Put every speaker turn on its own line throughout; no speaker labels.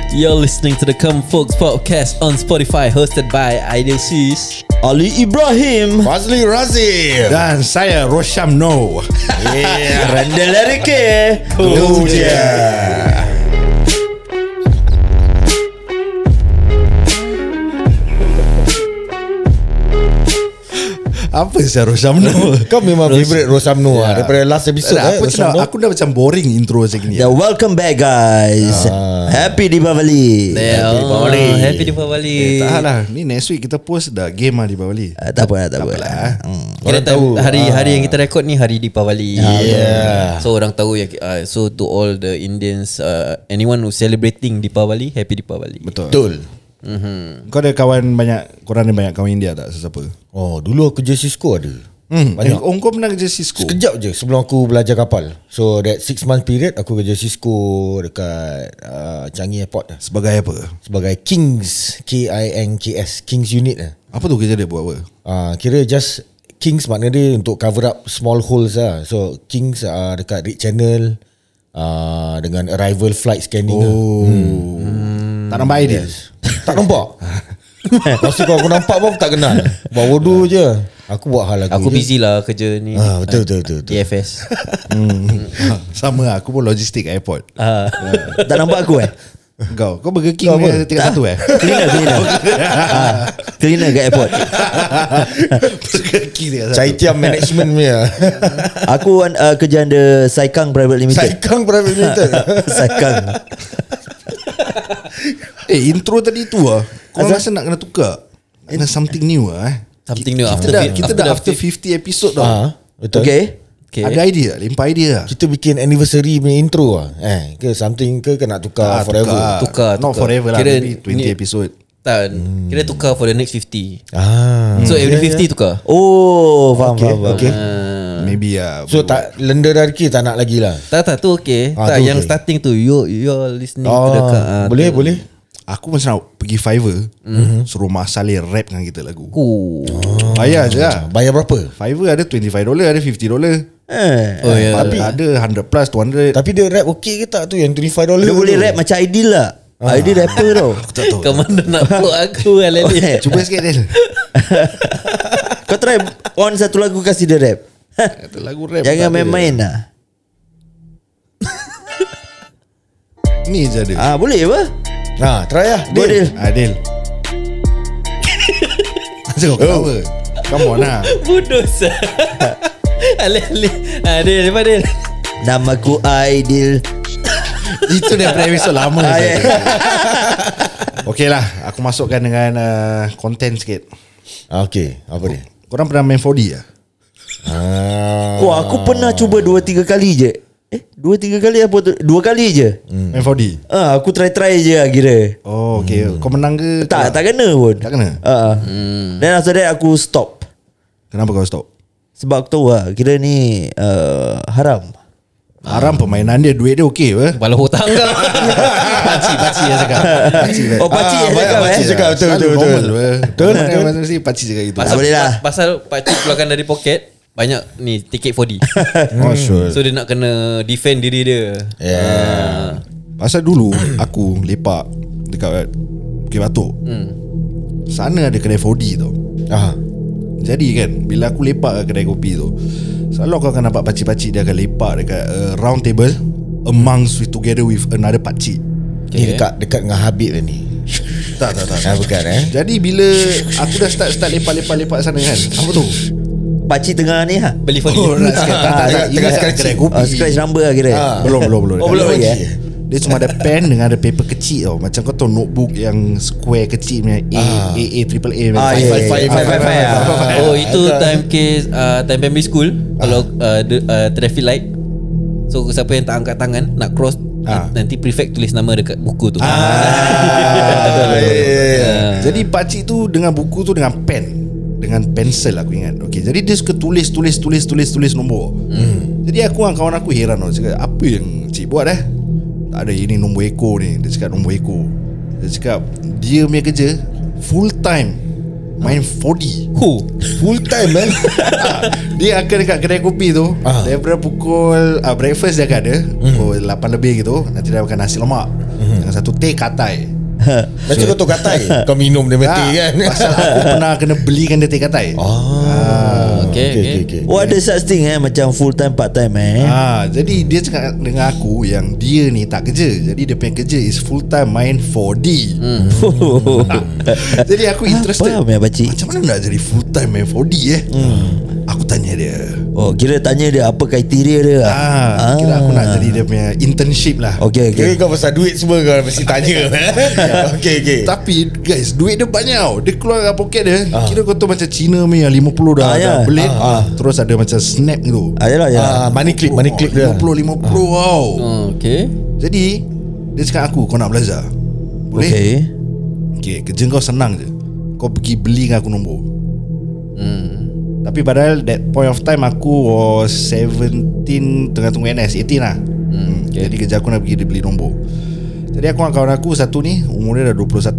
You're listening to the Come Folks Podcast on Spotify, hosted by Aidil Sis,
Ali Ibrahim,
Fazli Razif,
dan saya Rosham No.
Randall Erike.
Tu je.
Apa saya Rosham No?
Kau memang favourite Rosham No daripada last episode.
Aku dah macam boring intro macam ni.
Welcome back guys. Happy Deepavali.
Happy Deepavali.
Tak lah, ni next week kita post dah game lah di Bali.
Tak apa.
Kira tahu hari yang kita rekod ni hari Deepavali. So orang tahu yang so to all the Indians, anyone who celebrating Deepavali, happy Deepavali.
Betul. Kau ada kawan banyak, korang ada banyak kawan India tak? Sesiapa?
Oh, dulu aku kerja Cisco ada.
Banyak. Kau pernah kerja Cisco?
Sekejap je sebelum aku belajar kapal. So that 6 month period aku kerja Cisco dekat Changi Airport.
Sebagai apa?
Sebagai Kings, KINGS, Kings unit lah.
Apa tu kerja dia buat apa?
Kira just Kings makna dia untuk cover up small holes lah. So Kings dekat red channel dengan arrival flight scanning.
Tak nampak dia?
Tak nampak. Masa aku nampak pun tak kenal. Buat bodoh je. Aku buat hal lagu.
Aku busy lah kerja ni.
Betul.
TFS.
Sama lah, aku pun logistik airport.
Tak nampak aku
Kau Burger King tingkat 1
Cleaner kat airport.
Burger King tingkat 1.
Cai tiam management punya.
Aku kerja under Saikang Private Limited.
Saikang Private Limited.
Saikang.
Intro tadi tu kau rasa nak kena tukar? Kena something new
Something new
Kita dah after 50 episode dah.
Betul.
Okay.
Ada idea tak? Limpah idea tak?
Kita bikin anniversary punya intro ke something ke nak tukar forever.
Tukar.
Not forever lah.
Kira
Maybe 20 episode.
Tak, kira tukar for the next 50.
So
So every 50 tukar.
Oh, faham.
Okay.
Maybe
So tak lender dari tak nak lagi lah.
Tak tu okay. Tak
tu
yang
okay.
starting tu you're listening to the
Boleh.
aku macam nak pergi Fiverr, suruh Mak Saleh rap dengan kita lagu. Bayar je lah.
Bayar berapa?
Fiverr ada $25, ada $50.
Oh ya.
Tapi ada 100 plus 200.
Tapi dia rap okey ke tak tu yang $25
Dia boleh rap macam Aidil lah. Aidil rapper tau.
Aku tak tahu.
Kau mana nak peluk aku Alali.
Cuba sikit Del.
Kau try on satu lagu kasih dia rap.
Kata lagu rap.
Jangan
tak ada.
main-main lah.
Ni je ada.
Boleh apa?
Try lah.
Adil.
Adil. Macam kau ketawa. Come on lah.
Bodoh sah. Ali. Adil.
Namaku Aidil.
Itu daripada episode lama. Okay lah, aku masukkan dengan konten sikit.
Okay, apa dia?
Korang pernah main 4D lah?
Wah, aku pernah cuba 2-3 kali je. 2-3 kali apa tu? 2 kali je.
Main 4D?
Aku try je lah kira.
Oh okay. Kau menang ke?
Tak kena pun.
Tak kena?
Then after that aku stop.
Kenapa kau stop?
Sebab aku tahu lah, kira ni haram.
Haram permainan dia. Duit dia okay apa?
Kepala hutang kau.
Pakcik yang cakap.
Oh, pakcik yang cakap
pakcik cakap. Betul.
Betul. Mesti pakcik cakap gitu.
Tak boleh lah.
Pasal pakcik keluarkan dari poket banyak ni tiket 4D.
Oh sure.
So dia nak kena defend diri dia.
Pasal dulu aku lepak dekat Bukit Batok. Sana ada kedai 4D tau. Jadi kan, bila aku lepak kat kedai kopi tu, selalu kau akan nampak pakcik-pakcik dia akan lepak dekat round table amongst together with another pakcik.
Ni dekat dengan Habib ni.
Tak.
Bukan
Jadi bila aku dah start lepak sana kan, apa tu?
Pakcik tengah ni ha?
Beli 4D.
Tengah kedai kopi.
Scratch number lah kira.
Belum.
Belum lagi
Dia cuma ada pen dengan ada paper kecil tau. Macam kau tahu notebook yang square kecil punya triple A.
Oh itu time case time primary school. Kalau traffic light, so siapa yang tak angkat tangan nak cross, nanti prefect tulis nama dekat buku tu.
Jadi pakcik tu dengan buku tu dengan pen, dengan pensel aku ingat. Okay, jadi dia suka tulis nombor. Jadi aku dengan kawan aku heran tau. Cakap apa yang cik buat tak ada, ini nombor ekor ni. Dia cakap nombor ekor. Dia cakap dia punya kerja full time main 4D.
Full time
Dia akan dekat kedai kopi tu daripada pukul breakfast dia akan ada pukul 8 lebih gitu. Nanti dia makan nasi lemak. Dengan satu teh katai.
Macam kau tahu katai kau minum dia mati kan.
Pasal aku pernah kena belikan dia teh katai.
Okay.
Oh ada such thing macam full time part time
Jadi dia cakap dengan aku yang dia ni tak kerja. Jadi dia punya kerja is full time main 4D. Jadi aku interested.
Faham ya pakcik?
Macam mana nak jadi full time main 4D Aku tanya dia.
Oh kira tanya dia apa kriteria dia
Kira aku nak jadi dia punya internship lah.
Okay.
Kira kau pasal duit semua kau mesti tanya. Okay.
Tapi guys, duit dia banyak tau. Dia keluar dari poket dia. Kira kau tahu macam Cina punya 50 dah belit. Terus ada macam snap gitu.
Yalah.
Money clip dia.
50 tau.
Okay.
Jadi dia cakap aku, kau nak belajar? Boleh? Okay, kerja kau senang je. Kau pergi belikan aku nombor. Tapi padahal that point of time aku was 17, tengah tunggu NS, 18 lah. Okay. Jadi kerja aku nak pergi beli nombor. Jadi aku dengan kawan aku satu ni umur dia dah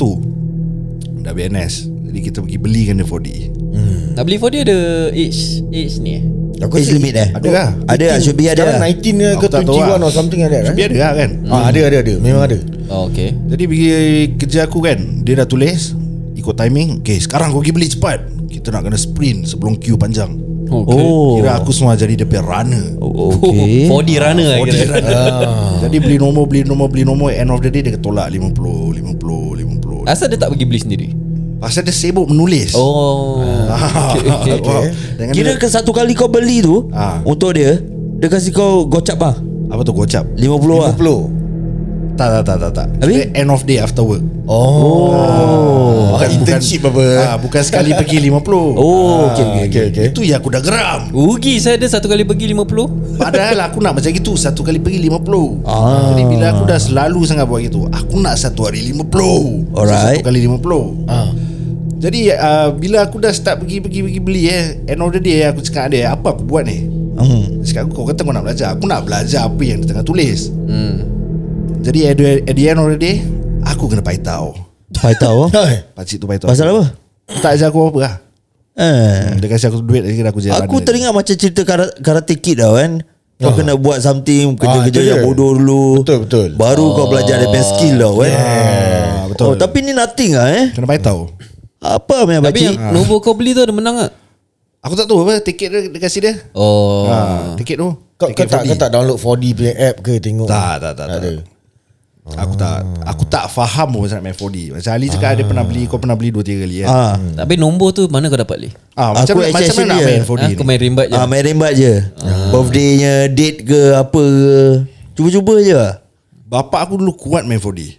21, dah BNS. Jadi kita pergi belikan dia 4D.
Nak beli 4D ada age ni
Aku age limit
Ada lah.
Ada should be ada.
Sekarang 19 ke 21 or something like that.
Should be ada lah kan.
Ada. Memang ada.
Okay.
Jadi pergi kerja aku kan, dia dah tulis ikut timing. Okay, sekarang kau pergi beli cepat. Kita nak kena sprint sebelum queue panjang.
Okay.
Kira aku semua jadi dia punya runner.
Okay.
4D runner lah
4D
kira.
runner. Jadi beli nombor. End of the day dia tolak 50.
Asal dia tak pergi beli sendiri?
Pasal dia sibuk menulis.
Okay.
Dengan
Kira ke satu kali kau beli tu untuk dia kasih kau gocap lah
apa tu gocap?
50 lah.
50.
Tak.
Habis?
Kira end of day after work.
Bukan internship apa.
Bukan sekali pergi 50.
Okay.
Itu yang aku dah geram.
Rugi saya ada satu kali pergi 50.
Padahal aku nak macam gitu, satu kali pergi 50. Jadi bila aku dah selalu sangat buat gitu, aku nak satu hari 50.
Alright.
Satu kali 50. Jadi bila aku dah start pergi beli end of the day aku cakap dia, apa aku buat ni? Cakap aku, kau kata kau nak belajar. Aku nak belajar apa yang dia tengah tulis. Jadi at the end of the day, aku kena paitao.
Paitao
Pakcik tu paitao.
pasal apa?
Tak ajar aku apa lah. Dia kasih aku duit lagi, aku jalan.
Aku teringat macam cerita Karate Kid tau kan. Kau kena buat something, kerja-kerja yang bodoh dulu.
Betul.
Baru kau belajar dia skill tau kan.
Betul.
Tapi ni nothing lah
Kena paitao.
Apa punya
Tapi
pakcik?
yang nombor kau beli tu ada menang tak?
Aku tak tahu apa tiket dia kasih dia. Tiket tu.
Kau tak download 4D punya app ke tengok?
Tak.
ada.
Aku tak faham pun pasal nak main 4D. Macam Ali cakap dia pernah beli, kau pernah beli 2-3 kali kan.
Tapi nombor tu mana kau dapat beli?
Macam mana nak main 4D
Aku
ni?
main rimbat je.
Main rembat je. Birthday-nya, date ke apa ke. Cuba-cuba je lah.
Bapak aku dulu kuat main 4D.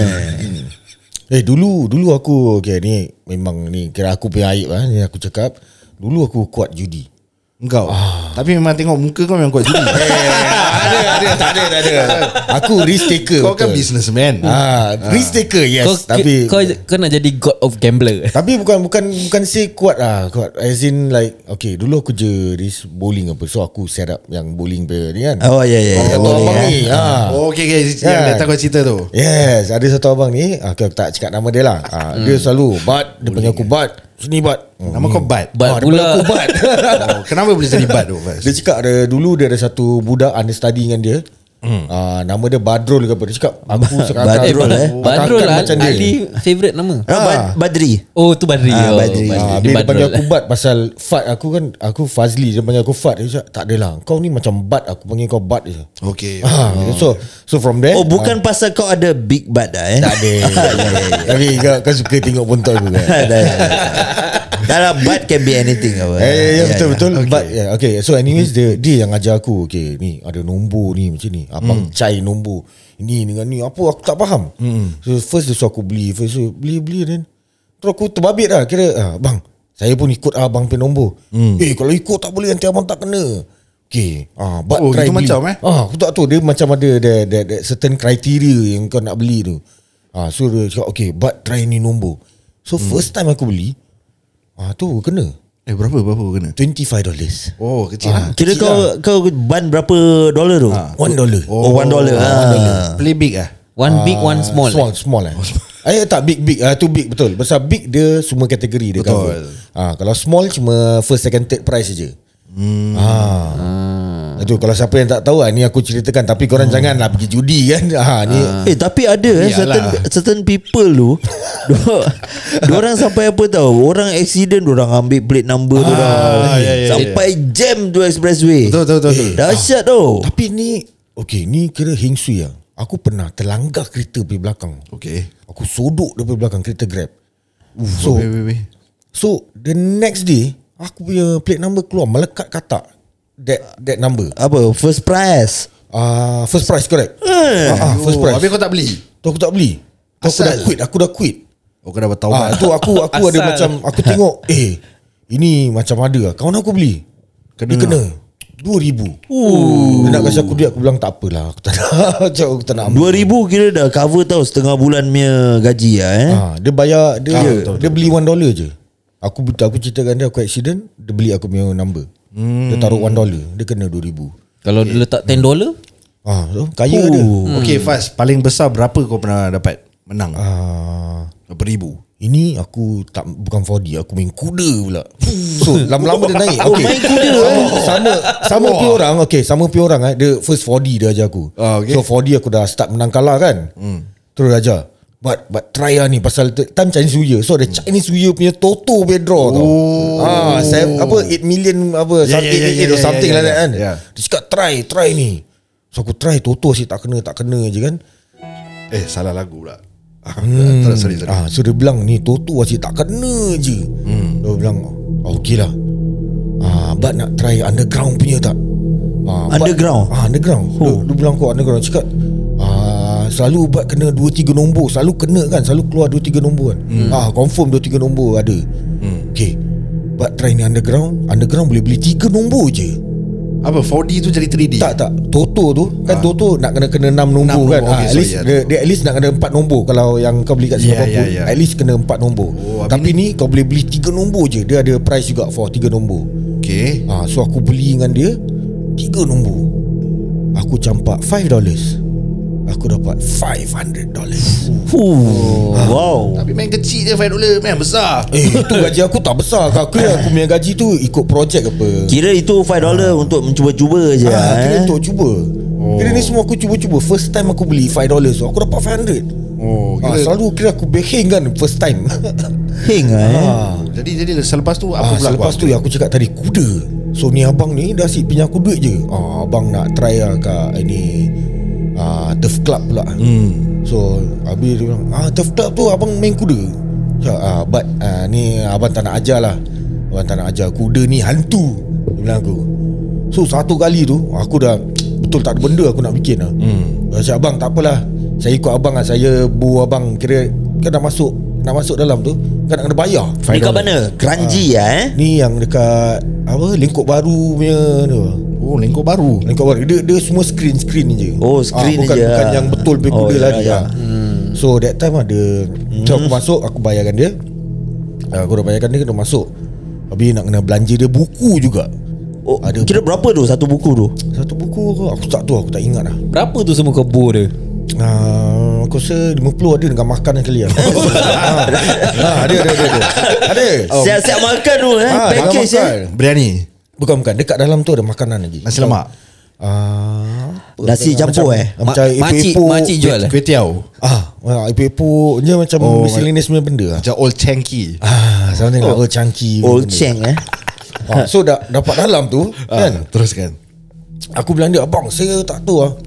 Dulu aku ni memang ni kira aku punya aib lah ni aku cakap. Dulu aku kuat judi.
Engkau. Tapi memang tengok muka kau memang kuat judi.
Tak ada. Aku risk taker.
Kau kan businessman.
Risk taker yes.
Kau nak jadi god of gambler.
Tapi bukan say kuat lah. Kuat as in like okay, dulu aku je risk bowling apa. So aku set up yang bowling player ni kan.
Boleh
abang ni.
Okay. Yang datang kau cerita tu.
Yes, ada satu abang ni. Aku tak cakap nama dia lah. Dia selalu Bad. Dia panggil aku Bad. Sini Bad.
Nama kau Bad.
Bad
Dia
pula.
panggil aku Bad.
Kenapa boleh jadi Bad tu?
Dia cakap dulu dia ada satu budak understudy dengan dia. Nama dia Badrul ke apa. Dia cakap aku sekarang
Badrul lah Ali favourite nama.
Badri.
Oh tu Badri.
Badri.
Dia panggil aku Bad pasal Fat aku Fazli. Dia panggil aku Fat. Dia cakap tak adalah, kau ni macam Bad. Aku panggil kau Bad je.
Okay.
So from there
Bukan pasal kau ada big butt dah
tak ada. Tapi kau suka tengok bontot aku kan.
Dalam butt can be anything apa.
Betul. But okay. So anyways dia yang ajar aku. Okay, ni ada nombor ni macam ni. Abang cai nombor ini dengan ni apa aku tak faham. So first dia suruh aku beli. Beli then terus aku terbabit lah. Kira bang, saya pun ikut abang punya nombor. Kalau ikut tak boleh, nanti abang tak kena. Okay, but try
gitu
beli.
macam
Aku tak tahu. Dia macam ada certain criteria yang kau nak beli tu. So dia cakap okay, but try ni nombor. So first time aku beli tu kena.
Berapa kena?
$25.
Oh, kecil lah.
Kira kau ban berapa dolar tu?
$1.
Oh, $1.
Play big ah.
One big, one small.
Small lah. Tak big. Too big betul. Pasal big dia semua kategori dia cover. Kalau small cuma first, second, third price je. Itu kalau siapa yang tak tahu ni aku ceritakan, tapi korang janganlah pergi judi kan. Ni
tapi ada certain people tu diorang sampai apa tahu, orang accident diorang ambil plate number diorang sampai jam tu expressway.
Betul.
Dahsyat tu.
tapi ni ni kira heng sui lah. Aku pernah terlanggar kereta pergi belakang. Aku sodok daripada belakang kereta Grab. So the next day aku punya plate number keluar melekat katak that number.
Apa? First prize.
First prize correct. First prize.
Habis kau tak beli?
Tu aku tak beli. Tu aku dah quit.
Kau dah bertaubat.
Tu aku ada macam aku tengok ini macam ada lah. Kawan aku beli. Dia kena 2,000. Dia nak kasi aku duit, aku bilang tak apalah, aku tak nak ambil.
2,000 kira dah cover tau setengah bulan punya gaji lah.
Dia bayar dia beli $1 je. Aku ceritakan dia aku accident, dia beli aku punya number. Dia taruh $1, dia kena 2,000.
Kalau dia letak $10,
kaya dia.
Okay Faz, paling besar berapa kau pernah dapat menang? Berapa ribu?
Ini aku bukan 4D, aku main kuda pula. So lama-lama dia naik.
Main kuda.
Sama pi orang. Sama pi orang dia first 4D dia ajar aku. So 4D aku dah start menang kalah kan. Terus dia ajar. But try lah ni pasal time Chinese New Year. So ada Chinese New Year punya Toto punya draw tau. 8 million apa, 888 or something like that kan. Dia cakap try ni. So aku try Toto asyik tak kena je kan.
Salah lagu pula.
Sorry. So dia bilang ni Toto asyik tak kena je. Dia bilang okey lah. But nak try underground punya tak?
Underground?
Underground. Dia bilang kau underground. Cakap selalu buat kena 2-3 nombor. Selalu kena kan, selalu keluar 2-3 nombor kan. Confirm 2-3 nombor ada. Okay, but try ni underground. Underground boleh beli 3 nombor je.
Apa 4D tu jadi 3D?
Tak Toto tu kan Toto nak kena 6 nombor kan. At least dia at least nak kena 4 nombor. Kalau yang kau beli kat Singapura at least kena 4 nombor. Tapi ni kau boleh beli 3 nombor je. Dia ada price juga for 3 nombor.
Okay.
So aku beli dengan dia 3 nombor. Aku campak $5. Aku dapat $500.
Wow.
Tapi main kecil je $5, main besar.
Itu gaji aku tak besar. Aku punya gaji tu ikut projek apa.
Kira itu $5 untuk mencuba-cuba je.
Kira untuk cuba. Kira ni semua aku cuba-cuba. First time aku beli $5, so aku dapat $500. Selalu kira aku behing kan first time.
Heng
Jadi selepas tu apa pula?
Selepas tu aku cakap tadi kuda. So ni abang ni dah asyik pinjam aku duit je. Abang nak try lah kat ini Turf Club pula. So habis dia bilang Turf Club tu abang main kuda. But ni abang tak nak ajar lah. Abang tak nak ajar, kuda ni hantu, dia bilang aku. So satu kali tu aku dah betul tak ada benda aku nak bikin lah. Cakap abang tak apalah, saya ikut abang lah. Saya bu abang, kira kan nak masuk dalam tu kan nak kena bayar.
Ni kat mana? Kranji
Ni yang dekat apa, Lengkok Baru punya tu.
Lengkok Baru.
Dia semua screen je.
Screen
bukan,
je.
Bukan yang betul kuda lari. So that time ada. So aku masuk, aku bayarkan dia. Aku dah bayarkan dia, kena masuk. Habis nak kena belanja dia buku juga.
Ada kira berapa tu satu buku tu?
Satu buku aku tak tahu, aku tak ingat lah.
berapa tu semua kebo dia?
Aku rasa 50 ada dengan makan sekali lah. Ada.
Siap-siap makan tu package
Biryani.
Bukan, dekat dalam tu ada makanan lagi.
Nasi lemak.
Nasi campur
macam
Makcik jual lah.
Kuih tiaw.
epok-epok je macam miscellaneous punya benda lah.
Macam old chunky.
Something like old chunky.
Old cheng
So dapat dalam tu kan.
Teruskan.
Aku bilang dia, abang saya tak tahu lah.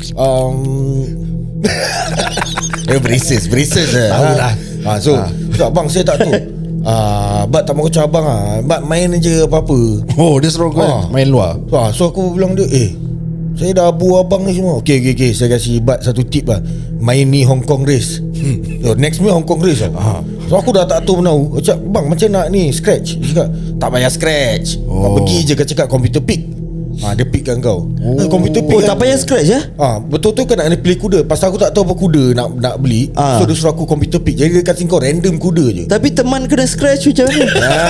Braces
Tahu dah.
So abang saya tak tahu. Bat tak mau kacau abang Bat main je apa-apa.
Dia suruh kau main luar.
So aku bilang dia, saya dah abu abang ni semua. Okay, saya kasih Bat satu tip lah. Main ni Hong Kong race. So next ni Hong Kong race lah. So aku dah tak tahu menau. Cakap, bang macam nak ni scratch. Dia cakap, tak payah scratch. Kau pergi je, kau cakap computer pick. Dia pickkan kau. Computer pick
tak payah scratch
betul tu kan nak kena pilih kuda. Pasal aku tak tahu apa kuda nak beli. So dia suruh aku computer pick. Jadi dia kasi kau random kuda je.
Tapi teman kena scratch macam ni.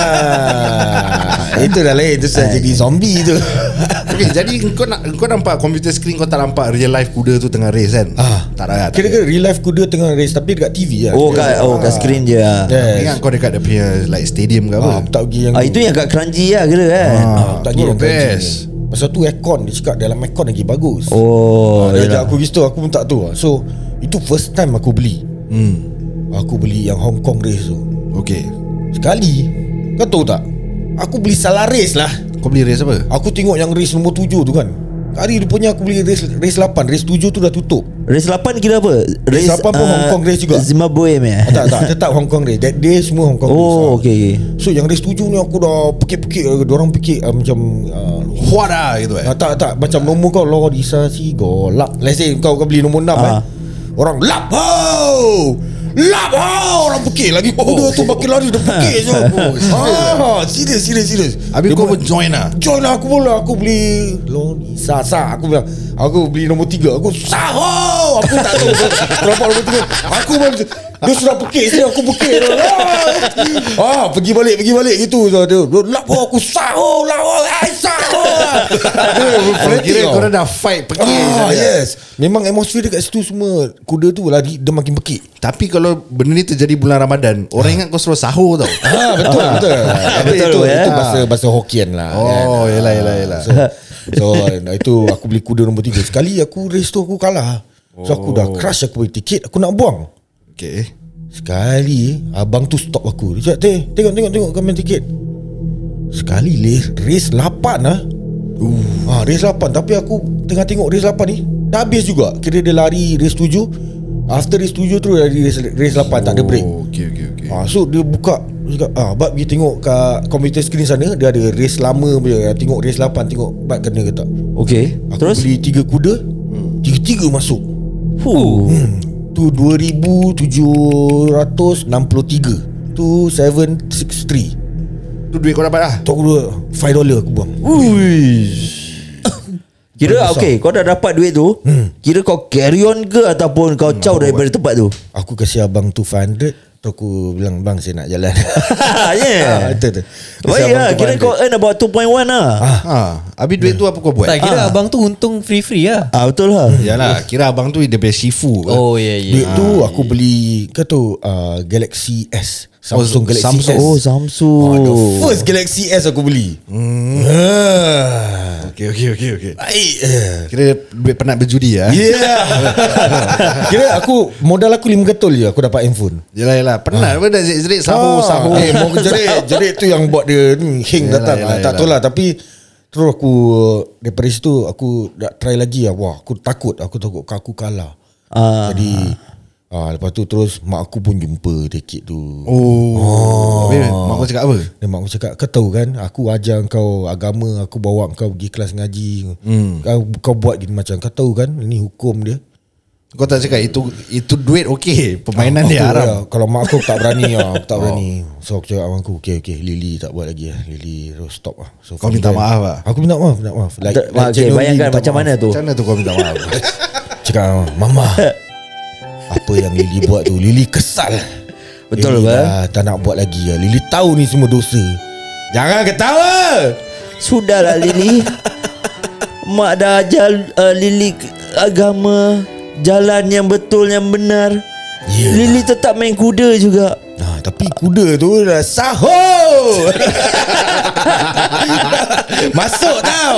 Itu dah lain. Itu saya jadi zombie tu.
Okay, jadi kau nampak computer screen, kau tak nampak real life kuda tu tengah race kan? Tak ada.
Kira-kira real life kuda tengah race tapi dekat TV lah.
Kat screen je.
Ingat kau dekat dia punya like stadium ke apa?
Tak pergi yang
itu yang kat Kranji lah kira kan.
tak pergi yang
best.
Pasal tu aircon, dia cakap dalam aircon lagi bagus. Dia ajak aku gitu, aku pun tak tahu. So itu first time aku beli. Aku beli yang Hong Kong race tu.
Okay.
Sekali, kau tahu tak, aku beli salah race lah.
Kau beli race apa?
Aku tengok yang race nombor 7 tu kan. Hari rupanya aku beli race 8. Race 7 tu dah tutup.
Race 8 kira apa?
Race 8 pun Hong Kong race juga.
Zimbabwe
Tak, tetap Hong Kong race. That day semua Hong Kong race.
okay.
So yang race 7 ni aku dah pekik-pekik. Diorang pekik macam
Huada gitu
tak macam nombor kau Lorisa Sigo lap. Let's say kau beli nombor 6 orang lap lap orang pekik lagi. Dia tu makin lari dia pekik je. Serius.
Habis kau pun join lah.
Aku pula. Aku beli Lorisa Aku bilang aku beli nombor 3. Aku aku tak tahu berapa nombor 3. Aku dia sudah pekik sini, aku pekik. Pergi balik gitu. Dia lap aku
Kira korang dah fight pekik.
Yes. Memang atmosfer dekat situ semua kuda tu lari dia makin pekik.
Tapi kalau benda ni terjadi bulan Ramadan, orang ingat kau suruh sahur tau.
Betul. Itu bahasa Hokkien lah.
Yelah.
So itu aku beli kuda nombor 3. Sekali aku race tu aku kalah. So aku dah crush, aku beli tiket, aku nak buang.
Okay.
Sekali abang tu stop aku. Dia cakap, tengok kau main tiket. Sekali race 8 lah. Race 8. Tapi aku tengah tengok race 8 ni dah habis juga. Kira dia lari race 7. After race 7 tu lari race 8. Tak ada break.
Okay.
So dia buka, dia cakap, Bab pergi tengok kat komputer screen sana. Dia ada race lama punya. Tengok race 8. Tengok Bab kena ke tak.
Okay.
Aku
Terus
beli 3 kuda. 3 masuk. Tu 2,763. Tu 763.
Tu duit kau dapat lah.
Tu $5 aku buang.
Kira okay, kau dah dapat duit tu. Kira kau carry on ke ataupun kau caw daripada tempat tu?
Aku kasih abang tu $500. Tu aku bilang, bang saya nak jalan. Betul.
Baik lah. Kira kau earn about 2.1 lah.
Habis duit tu apa kau buat?
Tak kira abang tu untung free lah.
Betul lah.
Yalah, kira abang tu dia punya Shifu.
Duit tu aku beli, kau tahu Galaxy S. Samsung Galaxy S.
Samsung.
The first Galaxy S aku beli.
Okay.
Baik.
Kira duit penat berjudi lah.
Kira modal aku 5 ketul je aku dapat handphone.
Yelah penat pun dah jerit sahur.
Jerit tu yang buat dia hing datang. Tak tahu lah. Tapi terus aku daripada situ aku nak try lagi lah. Wah aku takut aku kalah. Jadi lepas tu terus mak aku pun jumpa tiket tu.
Mak aku cakap apa?
Dan mak aku cakap, kau tahu kan, aku ajar kau agama, aku bawa kau pergi kelas ngaji. Kau buat gini macam, kau tahu kan ini hukum dia.
Kau tak cakap itu duit okey, permainan dia haram.
Kalau mak aku tak berani aku tak berani. So aku cakap abang aku, okay Lily tak buat lagi lah. Lily terus stop lah. So
kau minta maaf lah.
Aku minta maaf.
Bayangkan macam mana tu.
Macam mana tu kau minta maaf?
Cakap, mama, apa yang Lily buat tu, Lily kesal.
Betul
Lily tak nak buat lagi lah. Lily tahu ni semua dosa. Jangan ketawa.
Sudahlah Lily. Mak dah ajar Lily agama, jalan yang betul, yang benar. Lily tetap main kuda juga.
Tapi kuda tu dah sahur. Masuk tau.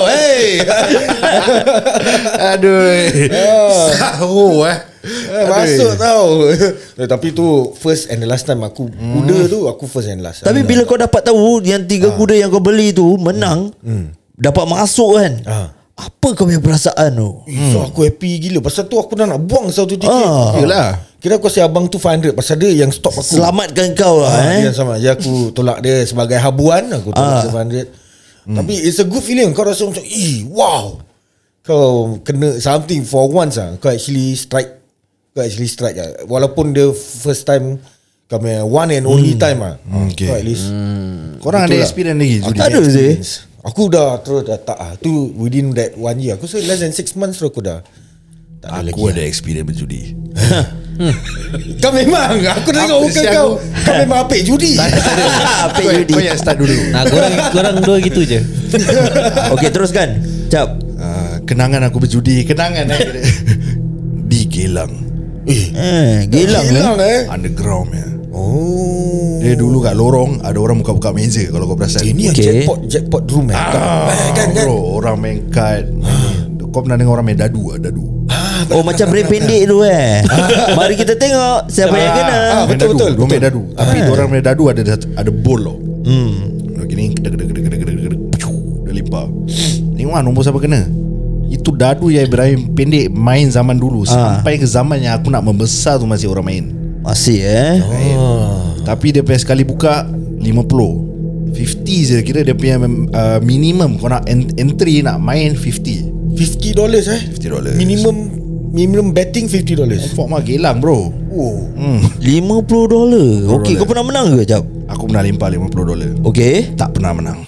Aduh. Sahur
masuk tau. Tapi tu first and the last time aku kuda tu, aku first and last.
Tapi bila kau dapat tahu yang 3 kuda yang kau beli tu menang, dapat masuk kan, apa kau punya perasaan tu?
So aku happy gila. Pasal tu aku dah nak buang satu tiket.
Yelah.
Kira aku kasi abang tu $500. Pasal dia yang stop aku.
Selamatkan kau lah.
Dia sama je. Aku tolak dia sebagai habuan. Aku tolak dia $500. Tapi it's a good feeling. Kau rasa macam wow, kau kena something for once lah. Kau actually strike lah. Walaupun dia first time, kau punya one and only time lah.
Okay.
Kau at least
korang ada experience lagi judi?
Ada sih.
Aku dah terus dah tak lah. Tu within that 1 year. Aku less than 6 months terus aku dah tak ada lagi.
Aku ada experience berjudi.
Kau memang, aku dah tengok muka kau. Kau memang apik judi.
Apik judi.
Kau yang start dulu.
Korang dua gitu je.
Okay, teruskan. Cap.
Kenangan aku berjudi. Kenangan di Gelang.
Gelang
Gelang
Underground ya.
Oh.
Dia dulu kat lorong ada orang buka-buka meja kalau kau perasan.
Ini jackpot room kan.
Bro, orang main kad. Kau pernah dengar orang main dadu?
Oh macam brand pendek tu Mari kita tengok siapa yang kena.
Betul. Dia main dadu. Tapi orang main dadu ada bol tau. Gini dia limpah. Tengok nombor siapa kena. Itu dadu yang Ibrahim pendek main zaman dulu. Sampai ke zaman yang aku nak membesar tu masih orang main.
Masih
Tapi dia punya sekali buka 50 je kira dia punya minimum. Kau nak entry nak main $50. $50
Minimum betting $50.
Fok mah gelang bro.
$50. Okay, kau pernah menang ke Jap?
Aku pernah limpah $50.
Okay.
Tak pernah menang.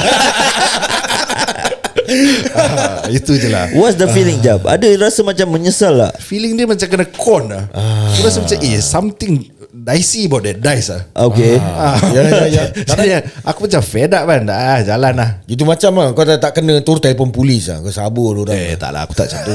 Itu je lah.
What's the feeling Jap? Ada rasa macam menyesal lah?
Feeling dia macam kena con lah. Aku rasa macam something dicey about that dice lah.
Okay.
Ya.
Jadi aku macam fed up kan. Jalan lah.
Itu macam lah kau tak kena turun telefon polis lah. Kau sabar orang.
Tak lah, aku tak macam tu.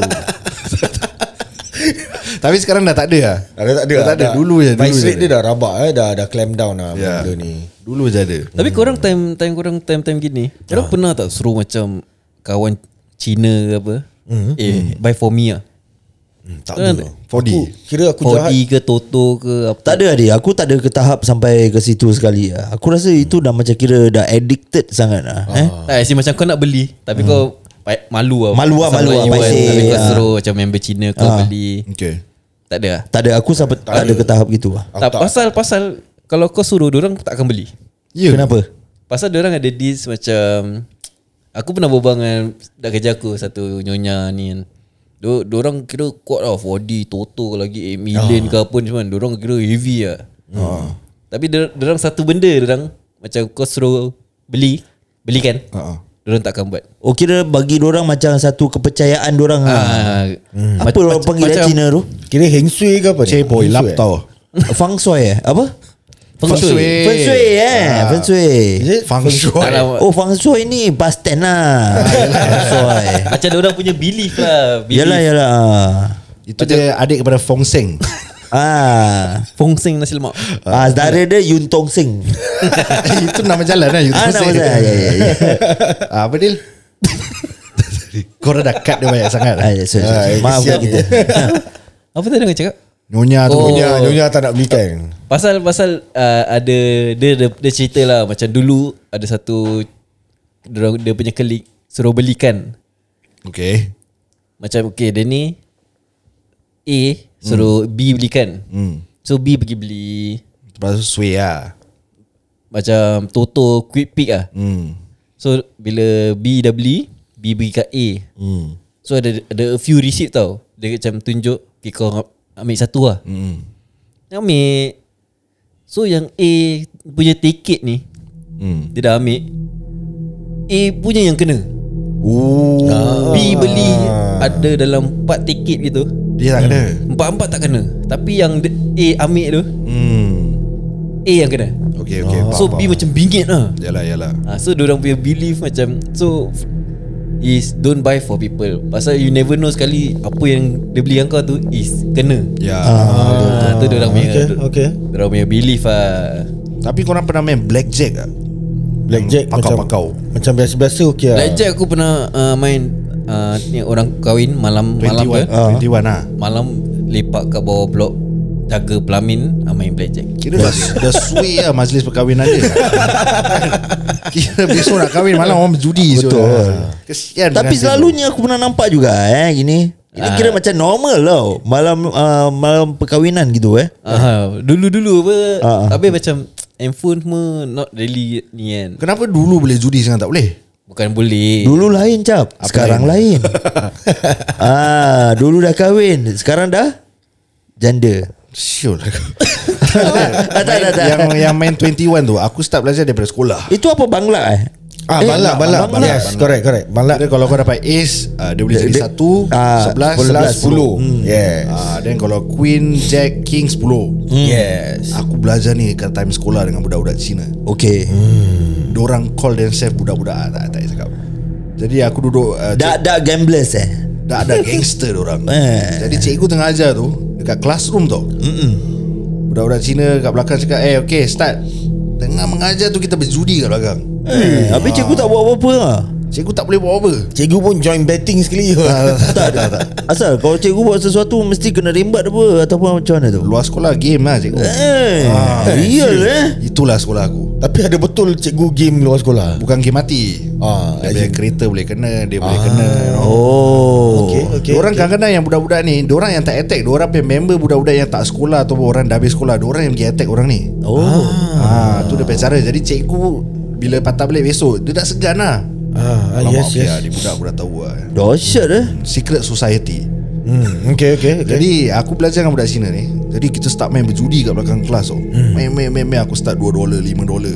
Tapi sekarang dah tak ada lah. Tak ada. Dulu je.
Vice rate dia dah rabak Dah clamp down lah benda ni.
Dulu je ada.
Tapi korang time gini, korang pernah tak suruh macam kawan Cina ke apa, buy for me lah?
Tak ada.
4D.
Kira aku jahat.
4D ke Toto ke apa?
Tak ada adik. Aku tak ada ke tahap sampai ke situ sekali lah. Aku rasa itu dah macam kira dah addicted sangat lah.
Asyik macam kau nak beli tapi kau malu lah.
Malu lah.
Tapi kau suruh macam member Cina kau beli.
Okay.
Tak ada lah.
Tak ada. Aku sampai tak ada ke tahap gitu lah.
Tak, pasal kalau kau suruh diorang tak akan beli.
Kenapa?
Pasal diorang ada deals macam, aku pernah berbual dengan dak kerja aku satu nyonya ni kan. Diorang kira kuat lah 4D Toto lagi 8 million ke apa ni semua. Diorang kira heavy lah. Tapi diorang satu benda diorang macam kau suruh belikan, diorang tak akan buat.
Oh kira bagi dorang macam satu kepercayaan dorang Apa orang panggil Cina tu?
Kira heng shui ke apa ni?
Boy lap tau.
Feng Shui Apa?
Feng Shui.
Feng Shui Feng Shui.
Feng Shui.
Oh Feng Shui ni past tense lah. Feng Shui.
Macam diorang punya belief lah.
Yalah.
Itu dia adik kepada Fong Seng.
Fong Sing nasi lemak.
Saudara dia Yun Tong Sing.
Itu nama jalan lah Yun Tong
nama
Seng.
saya. Ya.
Apa Dil? Korang dah cut dia banyak sangat.
Maafkan kita.
Apa tadi orang cakap?
Nyonya tu.
Nyonya tak nak belikan.
Pasal ada dia cerita lah macam dulu ada satu dia punya colleague suruh belikan.
Okay.
Macam okay dia ni A suruh B belikan. So B pergi beli
Lepas tu sway lah.
macam Toto Quick Pick lah. So bila B dah beli, B bagi kat A. So ada a few receipt tau. Dia macam tunjuk okay, kau ambil satu lah. Ambil. So yang A punya tiket ni dia dah ambil, A punya yang kena. B beli ada dalam 4 tiket gitu,
Dia tak kena.
4 tak kena. Tapi yang A ambil tu A yang kena.
Okay.
So B macam bingit lah.
Yalah.
So diorang punya belief macam, so is don't buy for people. Pasal you never know sekali apa yang dia beli yang kau tu is kena.
Ya.
Tu diorang punya
Okay.
diorang punya belief lah.
Tapi korang pernah main blackjack tak?
Blackjack
Pakau-pakau.
Macam biasa-biasa okay lah.
Blackjack aku pernah main ni orang kahwin malam
21 lah.
malam lepak kat bawah blok jaga pelamin main blackjack.
Kira dah sway lah majlis perkahwinan dia. Kira besok nak kahwin malam orang berjudi.
Betul.
Kesian.
Tapi selalunya aku pernah nampak juga gini. Ini kira macam normal tau. Malam perkahwinan gitu
Dulu-dulu apa tapi macam handphone semua not really ni kan.
Kenapa dulu boleh judi sekarang tak boleh?
Bukan boleh.
Dulu lain Cap. Sekarang lain. Dulu dah kahwin, sekarang dah janda.
Sure lah.
Tak.
Yang main 21 tu aku start belajar daripada sekolah.
Itu apa Bangla
Balak. Yes, correct. Balak.
Kira kalau kau dapat ace dia boleh jadi 1, 11, 10.
Yes.
Then kalau queen, jack, king 10.
Yes.
Aku belajar ni kat time sekolah dengan budak-budak Cina.
Okay.
Diorang call themselves budak-budak. Tak cakap. Jadi aku duduk
Dak gamblers
dah ada gangster diorang. Jadi cikgu tengah ajar tu dekat classroom tau. Budak-budak Cina kat belakang cakap okay start. Tengah mengajar tu kita berjudi kat belakang.
Habis cikgu tak buat apa-apa lah.
Cikgu tak boleh buat apa.
Cikgu pun join betting sekali.
Tak. Asal kalau cikgu buat sesuatu mesti kena rembat apa ataupun macam mana tu?
Luar sekolah game lah cikgu.
Real
Itulah sekolah aku.
Tapi ada betul cikgu game luar sekolah.
Bukan game mati. Dia punya kereta boleh kena. Dia boleh kena.
Okay.
Diorang kadang-kadang yang budak-budak ni, diorang yang tak attack, diorang punya member budak-budak yang tak sekolah ataupun orang dah habis sekolah, diorang yang pergi attack orang ni. Tu dia punya cara. Jadi cikgu bila patah balik besok, dia dah segan lah.
Yes.
Dia budak aku dah tahu lah.
Dahsyat
Secret society.
Okay.
Jadi aku belajar dengan budak Cina ni. Jadi kita start main berjudi kat belakang kelas tau. Main aku start $2, $5.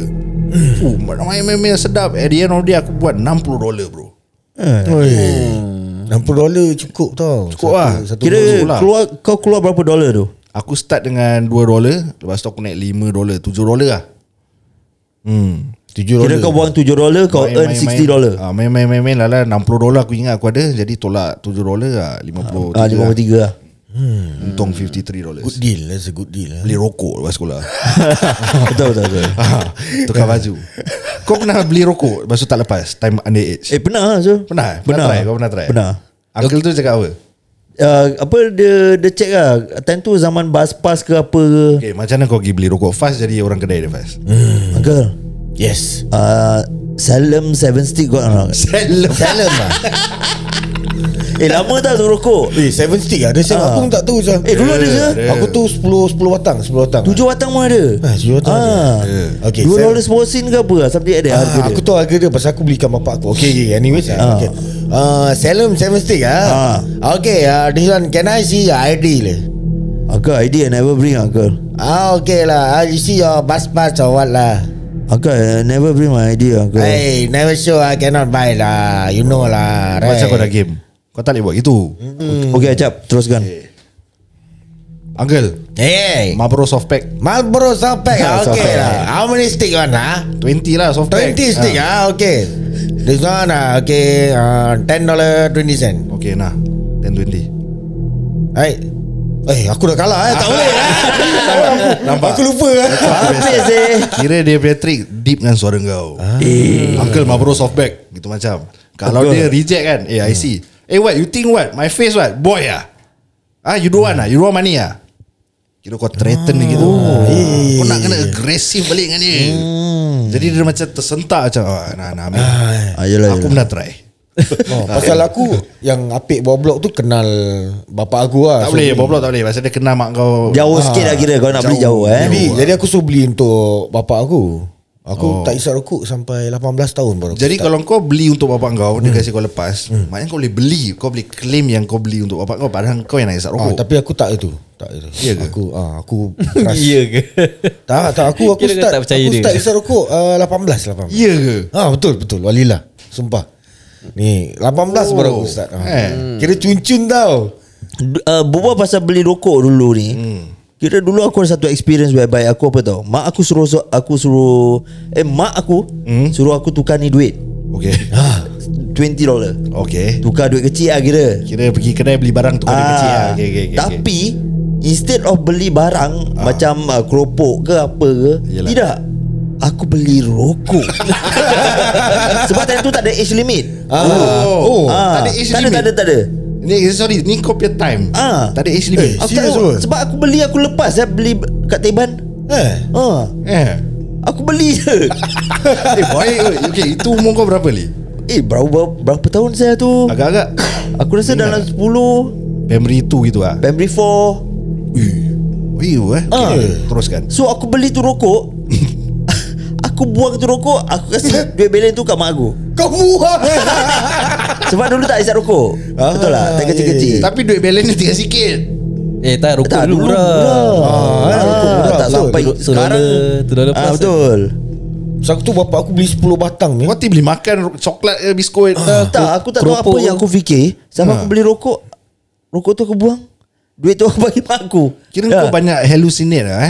Main sedap. At the end of the day aku buat $60 bro.
$60 cukup tau.
Cukup lah.
Kira kau keluar berapa dolar tu?
Aku start dengan $2. Lepas tu aku naik $5, $7 lah.
Kira kau buang $7, kau earn $60.
Main lah $60 aku ingat aku ada. Jadi tolak $7 lah, 53
53 lah.
Untung $53.
Good deal. That's a good deal.
Beli rokok lepas sekolah.
Betul.
Tukar baju. Kau pernah beli rokok lepas tu tak lepas time underage?
Pernah so.
Pernah? Kau pernah try?
Pernah.
Uncle tu cakap apa?
Apa dia check lah. Time tu zaman bus pass ke apa ke.
Okay, macam mana kau pergi beli rokok fast jadi orang kedai dia fast?
Uncle,
Yes.
Salem 7 stick kau nak?
Salem lah.
Lama tak tu rokok?
7 stick ada siapa aku pun tak tahu sah.
Dulu ada je.
Aku tu 10 batang 10 batang.
7 batang pun ada.
7 batang ada. Okay,
$2 seposin ke apa lah. Something ada harga dia.
Aku tahu harga dia pasal aku belikan bapak aku. Okay, anyways. Okay. Salem 7 stick Okay, this one can I see your ID lah?
Uncle, ID I never bring uncle.
Okay lah. You see your bus pass or what lah?
Uncle, I never bring my ID uncle.
Hey, never sure I cannot buy lah. You know lah, right?
Macam kau dah game, kau tak boleh buat gitu.
Okay, Acap, teruskan.
Uncle,
Hey,
Marlboro soft pack
Marlboro soft pack.
Soft
Okay
pack.
lah. How many stick one
20 lah soft pack.
20 stick okay. This one okay, $10.20.
Okay nah, 10-20.
Hey, aku dah kalah tak boleh
Nampak?
Aku lupa
Habis
Kira dia punya trick deep dengan suara kau. Uncle Marlboro soft pack gitu macam. Kalau dia reject kan, I see. What you think what? My face what? Boy you don't want You don't want money Kira kau threaten dia gitu. Kau nak kena agresif balik dengan dia. Jadi dia macam tersentak macam nak ambil. Aku pernah try.
Pasal aku yang apik bawah blok tu kenal bapak aku lah.
Tak boleh bawah blok tak boleh. Pasal dia kenal mak kau.
Jauh sikit lah kira. Kau nak beli jauh
Jadi aku suruh beli untuk bapak aku. Aku tak isap rokok sampai 18 tahun baru.
Jadi kalau kau beli untuk bapak kau, dia kasi kau lepas, maknanya kau boleh beli. Kau boleh claim yang kau beli untuk bapak kau, padahal kau yang nak isap rokok.
Tapi aku tak itu.
Ya ke?
Aku keras.
Ya ke?
Tak aku
Kira kau
start
tak percaya
aku
dia.
start isap rokok 18.
Ya ke?
Betul walilah. Sumpah. Ni 18 baru aku start. Kira cun-cun tau.
Berbual pasal beli rokok dulu ni. Kira dulu aku ada satu experience whereby aku apa tau. Mak aku suruh aku tukar ni duit.
Okay.
$20.
Okay.
Tukar duit kecil lah kira.
Kira pergi kedai beli barang tukar duit kecil lah. Okay.
Tapi instead of beli barang macam keropok ke apa ke,
Yelah.
tidak. Aku beli rokok. Sebab tadi tu tak ada age limit.
Tak ada age limit.
Tak ada.
Ni kau punya time. Tak ada age limit.
Aku
serious
tahu,
ke?
sebab aku beli aku lepas beli kat Teban. Aku beli je.
Baik. Okay, itu umur kau berapa Li?
Berapa tahun saya tu?
Agak-agak
Aku rasa dalam 10,
Primary 2 gitu lah.
Primary 4.
Okay. Teruskan.
So aku beli tu rokok. Aku buang tu rokok, aku kasih duit belen tu kat mak aku.
Kau buang.
Sebab dulu tak isap rokok. Betul lah, tak kecil-kecil.
Tapi duit balance dia tinggal sikit.
Tak rokok
Tak,
dulu
dulu
murah.
Rokok murah,
tak
betul.
sampai sekarang.
$2 plus.
Betul.
Sebab tu bapak aku beli 10 batang ni.
Kau beli makan coklat ke biskut.
Tak, aku tak tahu apa
keropok
yang aku fikir. Sampai aku beli rokok. Rokok tu aku buang. Duit tu aku bagi mak aku.
Kira kau banyak hallucinate lah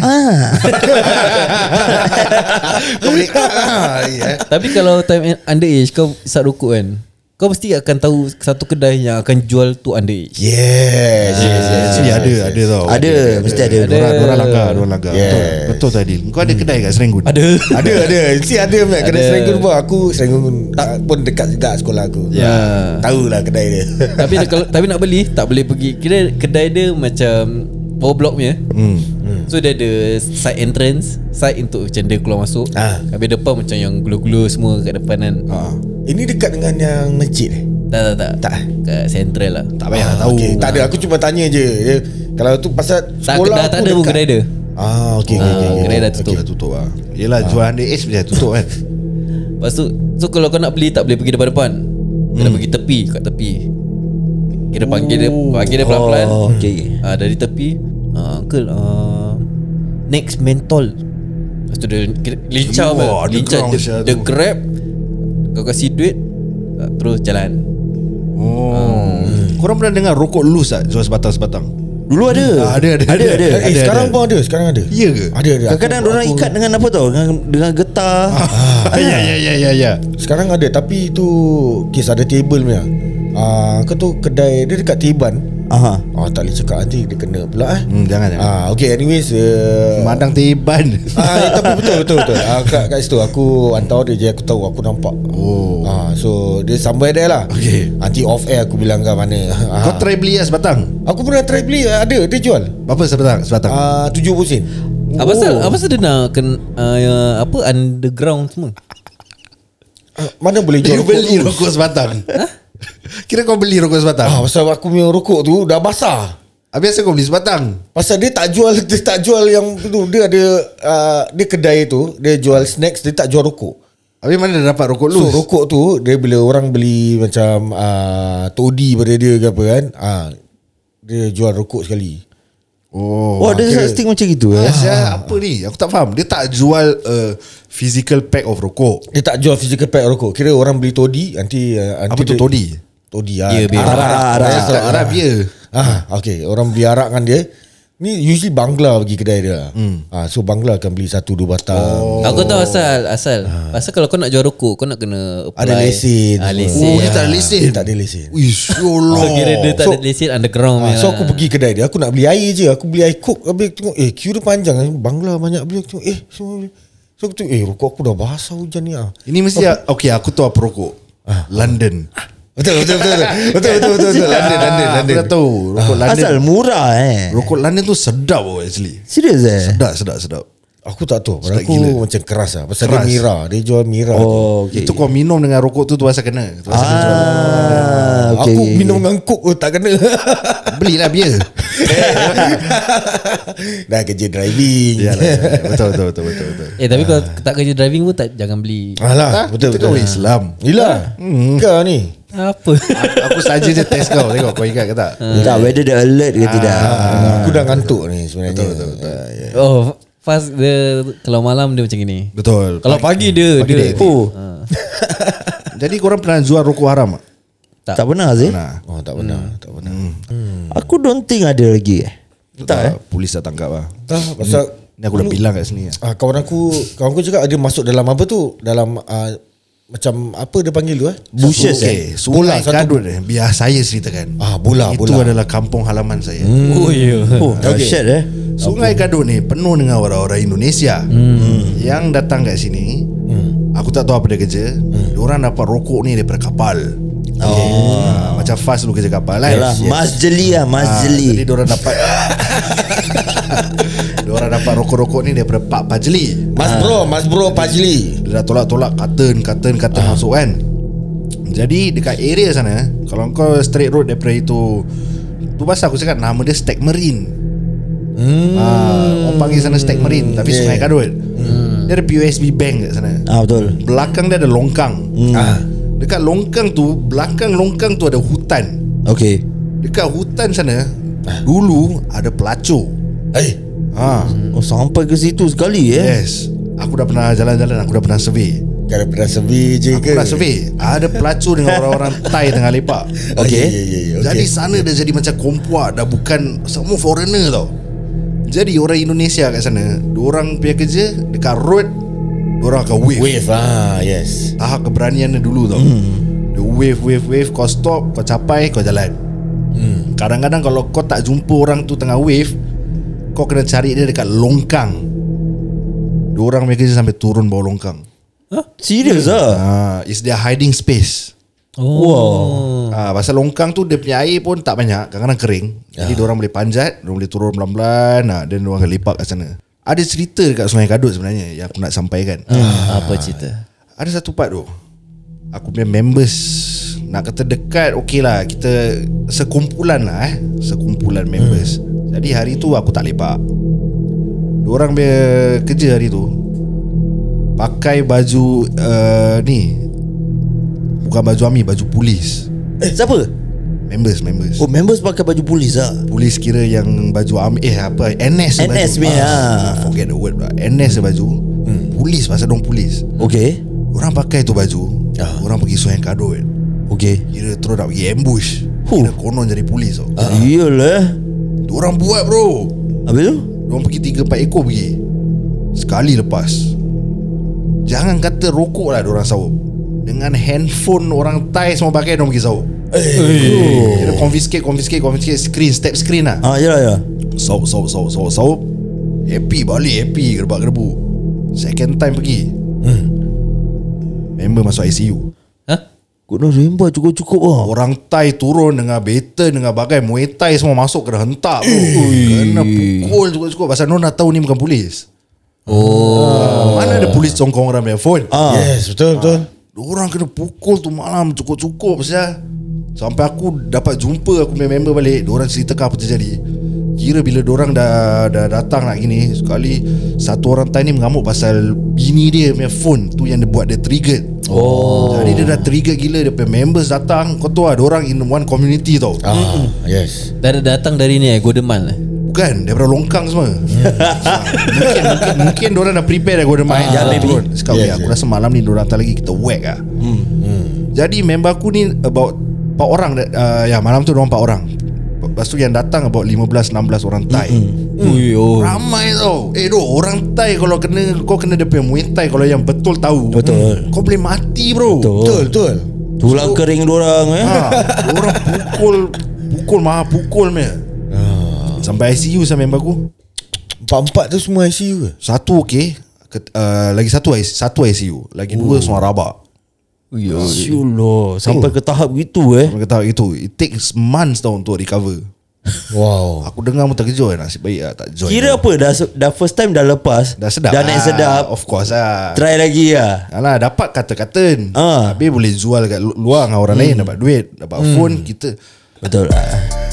Tapi kalau time underage kau isap rokok kan, kau mesti akan tahu satu kedai yang akan jual tu underage.
Yes.
Actually ada tau.
Ada, mesti ada.
Dua langgar. Betul tadi. Kau ada kedai kat Serenggun?
Ada.
Ada. Mesti ada kedai Serenggun pun. Aku Serenggun pun dekat juga sekolah aku.
Ya.
Tahulah kedai dia.
Tapi nak beli tak boleh pergi. Kira kedai dia macam power block punya. So dia ada side entrance, side untuk macam dia keluar masuk. Habis depan macam yang gulu-gulu semua kat depan kan.
Ini dekat dengan yang masjid
Tak. Kat central lah.
Tak payah tahu.
Okay. Tak ada, aku cuma tanya je. Kalau tu pasal sekolah
tak ada pun kedai dia.
Okay.
Kedai dah tutup.
Dah tutup lah. Yelah jual underage mesti dah tutup kan.
Lepas tu, so kalau kau nak beli tak boleh pergi depan-depan. Kena pergi tepi, kat tepi. Kira panggil dia pelan-pelan.
Okay.
Dari tepi, uncle, next mentol. Lepas tu dia lincah
Wah,
lincah
underground
dia grab. Kau kasih duit, terus jalan.
Korang pernah dengar rokok loose tak? Jual sebatang-sebatang.
Dulu ada.
Ada.
Sekarang pun ada. Sekarang ada.
Ya ke?
Ada.
Kadang-kadang orang ikat dengan apa tau? Dengan getah.
Ya.
Sekarang ada. Tapi tu kes ada table punya. Kau tu kedai dia dekat Tiban. Tak boleh cakap nanti dia kena pula
Jangan.
Okay, anyways
Madang Tiban.
tapi betul. Kat situ aku hantar dia je. Aku tahu, aku nampak. So dia sampai there lah.
Okay.
Nanti off air aku bilang kau mana.
Kau try beli lah sebatang?
Aku pernah try beli. Ada, dia jual
Berapa sebatang?
70 sen.
Apa pasal dia nak apa underground semua?
Mana boleh jual
Dia beli rokok sebatang. Kira kau beli rokok sebatang?
pasal aku punya rokok tu dah basah.
Habis kau beli sebatang?
Pasal dia tak jual yang tu. Dia ada dia kedai tu, dia jual snacks, dia tak jual rokok.
Habis mana dia dapat rokok
So
loose?
rokok tu dia bila orang beli macam toddy pada dia ke apa kan, dia jual rokok sekali.
Ada such thing macam gitu
Apa ni? Aku tak faham. Dia tak jual physical pack of rokok.
Dia tak jual physical pack rokok. Kira orang beli toddy nanti
Apa tu toddy?
Toddy
Ya, bir.
Arak bia.
Okay, orang beli arak kan dia. Ni usually Bangla pergi kedai dia. So Bangla akan beli 1-2 batang.
Aku tahu asal. Pasal kalau kau nak jual rokok, kau nak kena apply.
Ada lesen.
Lesen.
Dia tak ada lesen.
Dia tak ada lesen.
Wish,
So kira dia tak ada lesen underground punya
So
lah.
aku pergi kedai dia, aku nak beli air je. Aku beli air Coke. Habis aku tengok queue dia panjang. Bangla banyak beli. Aku tengok semua beli. So aku tengok rokok aku dah basah hujan ni.
Ini mesti okay, aku tahu apa rokok. London.
Betul. London.
Aku dah tahu rokok London.
Asal murah
Rokok London tu sedap actually.
Serius
Sedap.
Aku tak tahu. Pada
Sedap
aku
gila.
macam keras lah. Pasal
Keras.
dia Mira. Dia jual Mira.
okay.
Itu kau minum dengan rokok tu pasal kena. Tu pasal dia jual.
Aku minum dengan Coke tak kena.
Belilah bia.
Dah kerja driving.
Betul.
Tapi kalau tak kerja driving pun jangan beli.
Alah, betul.
Kau Islam.
Yelah. Kau ni.
Apa?
Aku saja je test kau. Tengok kau ingat ke tak?
Tak, whether dia alert ke tidak.
Aku dah ngantuk ni sebenarnya. Betul.
Oh, fast dia kalau malam dia macam gini.
Betul.
Kalau pagi dia
Jadi korang pernah jual rokok haram tak?
Tak pernah sih.
Nah.
Tak pernah.
Aku don't think ada lagi. Tak
Polis dah tangkap lah.
Pasal
Ni aku dah bilang kat sini.
kawan aku juga ada masuk dalam apa tu, dalam macam apa dia panggil tu
Bushes
Okay, Sungai Kadut biar saya ceritakan.
Bola.
Itu adalah kampung halaman saya.
Oh ya.
Dahsyat
Sungai Kadut ni penuh dengan orang-orang Indonesia yang datang kat sini. Aku tak tahu apa dia kerja. Diorang dapat rokok ni daripada kapal. Macam Fas dulu kerja kapal lah.
Yalah, Mas Jeli lah, Mas Jeli.
Jadi diorang dapat diorang dapat rokok-rokok ni daripada Pak Pajli.
Mas bro Pajli.
Dia dah tolak-tolak carton masuk kan. Jadi dekat area sana, kalau kau straight road daripada itu, tu pasal aku cakap nama dia Stag Marine. Orang panggil sana Stag Marine, tapi Sungai Kadut. Dia ada POSB Bank kat sana.
Betul.
Belakang dia ada longkang. Dekat longkang tu, belakang longkang tu ada hutan.
Okay.
Dekat hutan sana dulu ada pelacur.
Sampai ke situ sekali
Yes. Aku dah pernah jalan-jalan, aku dah pernah survey.
Kau dah pernah survey je
Aku
ke?
pernah survey. Ada pelacur dengan orang-orang Thai tengah lepak.
Okay.
Jadi sana dia jadi macam kompuak. Dah bukan semua foreigner tau. Jadi orang Indonesia kat sana, diorang punya kerja dekat road, diorang akan wave.
Yes.
Tahap keberanian dia dulu tau. The wave kau stop, kau capai, kau jalan. Kadang-kadang kalau kau tak jumpa orang tu tengah wave, kau kena cari dia dekat longkang. Diorang punya kerja sampai turun bawah longkang.
Serius lah.
It's their hiding space. Pasal longkang tu dia punya air pun tak banyak, kadang-kadang kering. Jadi diorang boleh panjat, diorang boleh turun pelan-pelan, dan diorang akan lepak kat sana. Ada cerita dekat Sungai Kadut sebenarnya yang aku nak sampaikan.
Apa cerita?
Ada satu part tu, aku punya members, nak kata dekat, okey lah, kita sekumpulan lah sekumpulan members. Jadi hari tu aku tak lepak. Diorang punya kerja hari tu pakai baju ni, bukan baju army, baju polis.
Siapa?
Members.
Oh, members pakai baju polis lah.
Polis kira yang baju army, NS baju. Forget the word lah. NS baju. Polis, pasal dong polis.
Okay.
Orang pakai tu baju. Orang pergi Sungai Kadut.
Okay.
Kira terus nak pergi ambush. Kira konon jadi polis tau.
Iyalah.
Diorang buat bro.
Habis tu?
Diorang pergi 3-4 ekor pergi. Sekali lepas. Jangan kata rokok lah diorang sahur. Dengan handphone orang Thai semua pakai, diorang pergi sahur. Kira confiscate screen, step screen lah.
Yalah.
Sahur. Happy balik, happy gerbak-gerbu. Second time pergi, member masuk ICU.
Kau dah rembat cukup-cukup lah.
Orang Thai turun dengan baton, dengan bagai Muay Thai semua masuk, kena hentak bro. Kena pukul cukup-cukup. Pasal diorang dah tahu ni bukan polis. Mana ada polis congkong orang punya phone.
Yes, betul.
Diorang kena pukul tu malam cukup-cukup pasal. Sampai aku dapat jumpa aku punya member balik. Diorang ceritakan apa terjadi. Kira bila diorang dah datang nak gini, sekali satu orang Thai ni mengamuk pasal bini dia punya phone tu yang dia buat dia trigger. Jadi dia dah trigger gila. Dia punya members datang. Kau tahu lah, diorang in one community tau.
Yes.
Dah datang dari ni Godeman lah.
Bukan, daripada longkang semua. Mungkin diorang dah prepare dah Godeman.
maybe.
Sekarang aku rasa malam ni diorang datang lagi, kita whack lah. Jadi member aku ni about 4 orang. Malam tu diorang 4 orang. Lepas tu yang datang about 15-16 orang Thai. Ramai tau. Orang Thai kalau kau kena dia punya Muay Thai, kalau yang betul tahu, kau boleh mati bro.
Betul.
Tulang kering diorang
Diorang pukul maha pukul punya. Sampai ICU sama member aku.
4 tu semua ICU ke?
Satu okey, lagi satu ICU, lagi 2 semua rabak.
Syullah. Sampai ke tahap gitu
Mereka tahu itu. It takes months tau untuk recover.
Wow.
Aku dengar pun terkejut. Nasib baik lah tak join.
Kira apa? Dah first time dah lepas,
Dah sedap.
dah naik sedap.
Of course lah.
Try lagi lah.
Alah, dapat kata-kata. Habis boleh jual kat luar dengan orang lain, dapat duit, dapat phone kita.
Betul lah.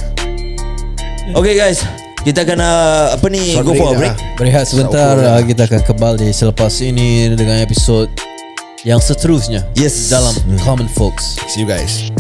Okay guys, kita akan go for a break.
Berehat sebentar. Kita akan kembali selepas ini dengan episod yang seterusnya.
Yes.
Dalam Common Folks.
See you guys.